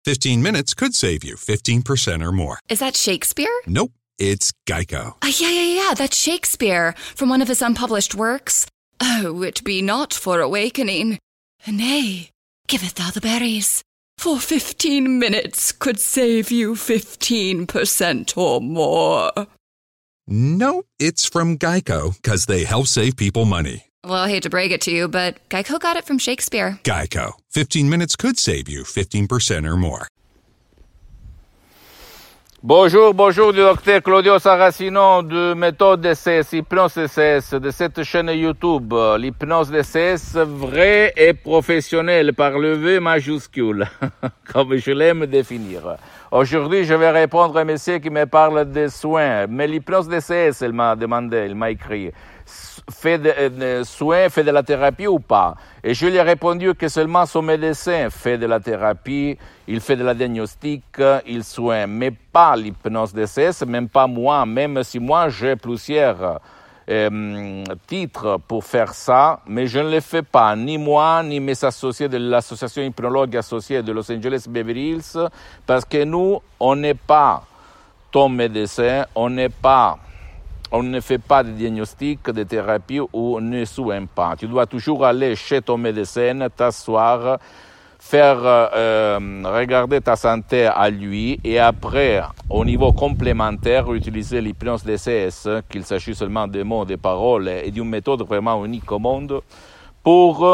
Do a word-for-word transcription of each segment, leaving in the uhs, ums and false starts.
fifteen minutes could save you fifteen percent or more. Is that Shakespeare? Nope, it's Geico. Uh, yeah, yeah, yeah, that's Shakespeare from one of his unpublished works. Oh, it be not for awakening. Nay, giveth thou the berries. For fifteen minutes could save you fifteen percent or more. Nope, it's from Geico, because they help save people money. Well, I hate to break it to you, but Geico got it from Shakespeare. Geico. fifteen minutes could save you fifteen percent or more. Bonjour, bonjour du docteur Claudio Saracino de Méthode D C S, Hypnose D C S, de cette chaîne YouTube, l'hypnose D C S vraie et professionnelle par le V majuscule, comme je l'aime définir. Aujourd'hui, je vais répondre à un monsieur qui me parle des soins, mais l'hypnose D C S, il m'a demandé, il m'a écrit, fait des soins, fait de la thérapie ou pas? Et je lui ai répondu que seulement son médecin fait de la thérapie, il fait de la diagnostic, il soigne, mais pas l'hypnose D C S, même pas moi, même si moi j'ai plusieurs euh, titres pour faire ça, mais je ne le fais pas, ni moi, ni mes associés de l'association hypnologue associée de Los Angeles Beverly Hills, parce que nous, on n'est pas ton médecin, on n'est pas... On ne fait pas de diagnostic, de thérapie ou on ne soigne pas. Tu dois toujours aller chez ton médecin, t'asseoir, faire euh, regarder ta santé à lui et après, au niveau complémentaire, utiliser l'hypnose D C S, qu'il s'agit seulement de mots, de paroles et d'une méthode vraiment unique au monde pour,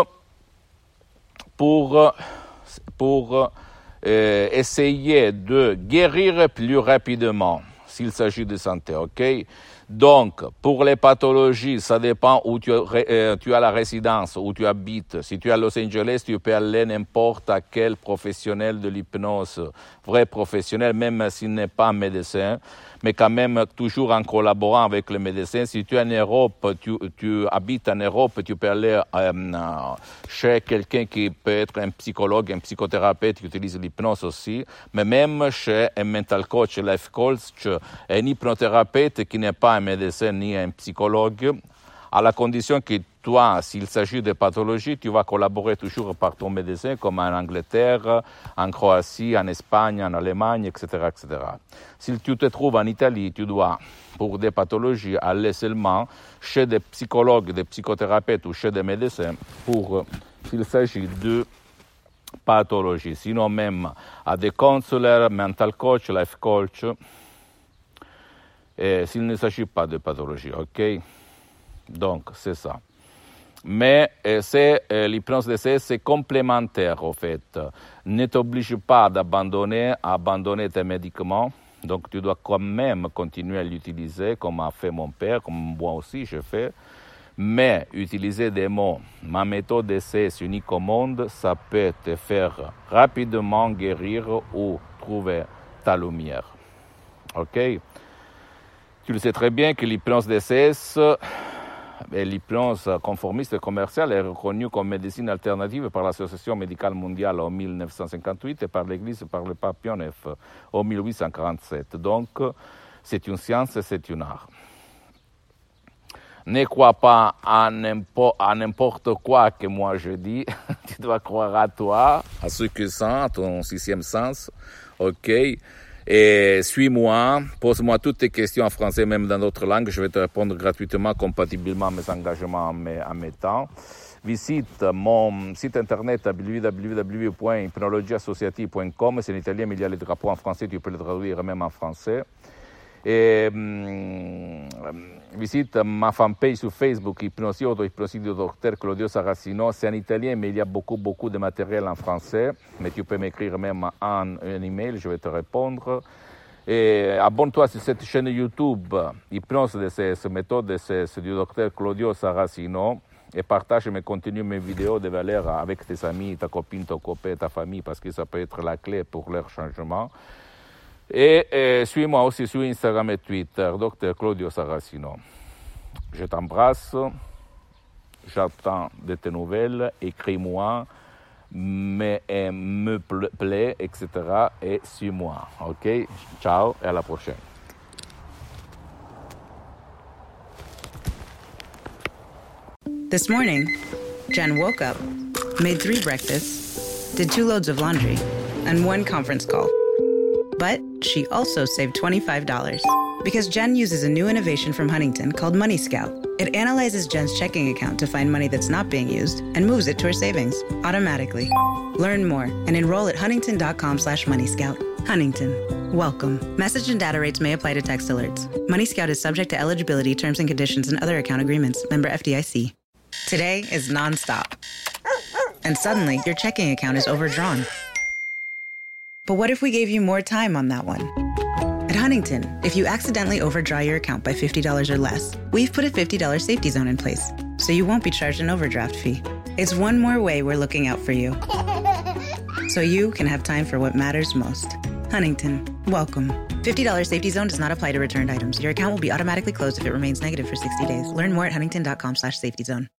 pour, pour euh, essayer de guérir plus rapidement s'il s'agit de santé, ok? Donc, pour les pathologies, ça dépend où tu, euh, tu as la résidence, où tu habites. Si tu es à Los Angeles, tu peux aller n'importe à quel professionnel de l'hypnose, vrai professionnel, même s'il n'est pas médecin, mais quand même toujours en collaborant avec le médecin. Si tu es en Europe, tu, tu habites en Europe, tu peux aller euh, chez quelqu'un qui peut être un psychologue, un psychothérapeute qui utilise l'hypnose aussi, mais même chez un mental coach, life coach, un hypnothérapeute qui n'est pas un médecin ni un psychologue, à la condition que toi, s'il s'agit de pathologie, tu vas collaborer toujours par ton médecin, comme en Angleterre, en Croatie, en Espagne, en Allemagne, et cetera, et cetera. Si tu te trouves en Italie, tu dois, pour des pathologies, aller seulement chez des psychologues, des psychothérapeutes ou chez des médecins pour, s'il s'agit de pathologie. Sinon même à des counselors, mental coach, life coach, et s'il ne s'agit pas de pathologie, ok? Donc, c'est ça. Mais euh, c'est, euh, l'hypnose D C S, c'est complémentaire, au fait. Ne t'oblige pas d'abandonner, à abandonner tes médicaments. Donc, tu dois quand même continuer à l'utiliser, comme a fait mon père, comme moi aussi je fais. Mais utiliser des mots, ma méthode D C S unique au monde, ça peut te faire rapidement guérir ou trouver ta lumière. OK? Tu le sais très bien que l'hypnose D C S, et l'hypnose conformiste et commerciale est reconnue comme médecine alternative par l'Association médicale mondiale en mille neuf cent cinquante-huit et par l'Église par le pape Pie neuf en mille huit cent quarante-sept. Donc, c'est une science et c'est un art. Ne crois pas à n'importe quoi que moi je dis. Tu dois croire à toi, à ce que sens, à ton sixième sens. OK? Et suis-moi, pose-moi toutes tes questions en français, même dans d'autres langues. Je vais te répondre gratuitement, compatiblement à mes engagements, à mes, à mes temps. Visite mon site internet w w w point hypnologie associative point com. C'est en italien, mais il y a les drapeaux en français. Tu peux le traduire même en français. Et hum, visite ma fanpage sur Facebook, Hypnosie Auto-Hypnosie du docteur Claudio Saracino. C'est en italien, mais il y a beaucoup, beaucoup de matériel en français. Mais tu peux m'écrire même en un email, je vais te répondre. Et abonne-toi sur cette chaîne YouTube, Hypnose D C S, méthode D C S du docteur Claudio Saracino. Et partage mes contenus, mes vidéos de valeur avec tes amis, ta copine, ton copain, ta famille, parce que ça peut être la clé pour leur changement. Et, et suis-moi aussi sur Instagram et Twitter, docteur Claudio Saracino. Je t'embrasse, j'attends de tes nouvelles, écris-moi, me, me plaît, et cetera. Et suis-moi, ok? Ciao et à la prochaine. This morning, Jen woke up, made three breakfasts, did two loads of laundry, and one conference call. But she also saved twenty-five dollars because Jen uses a new innovation from Huntington called Money Scout. It analyzes Jen's checking account to find money that's not being used and moves it to her savings automatically. Learn more and enroll at huntington.com slash money scout. Huntington. Welcome. Message and data rates may apply to text alerts. Money Scout is subject to eligibility, terms and conditions, and other account agreements. Member F D I C. Today is nonstop. And suddenly, your checking account is overdrawn. But what if we gave you more time on that one? At Huntington, if you accidentally overdraw your account by fifty dollars or less, we've put a fifty dollars safety zone in place, so you won't be charged an overdraft fee. It's one more way we're looking out for you, so you can have time for what matters most. Huntington, welcome. fifty dollars safety zone does not apply to returned items. Your account will be automatically closed if it remains negative for sixty days. Learn more at huntington.com slash safety zone.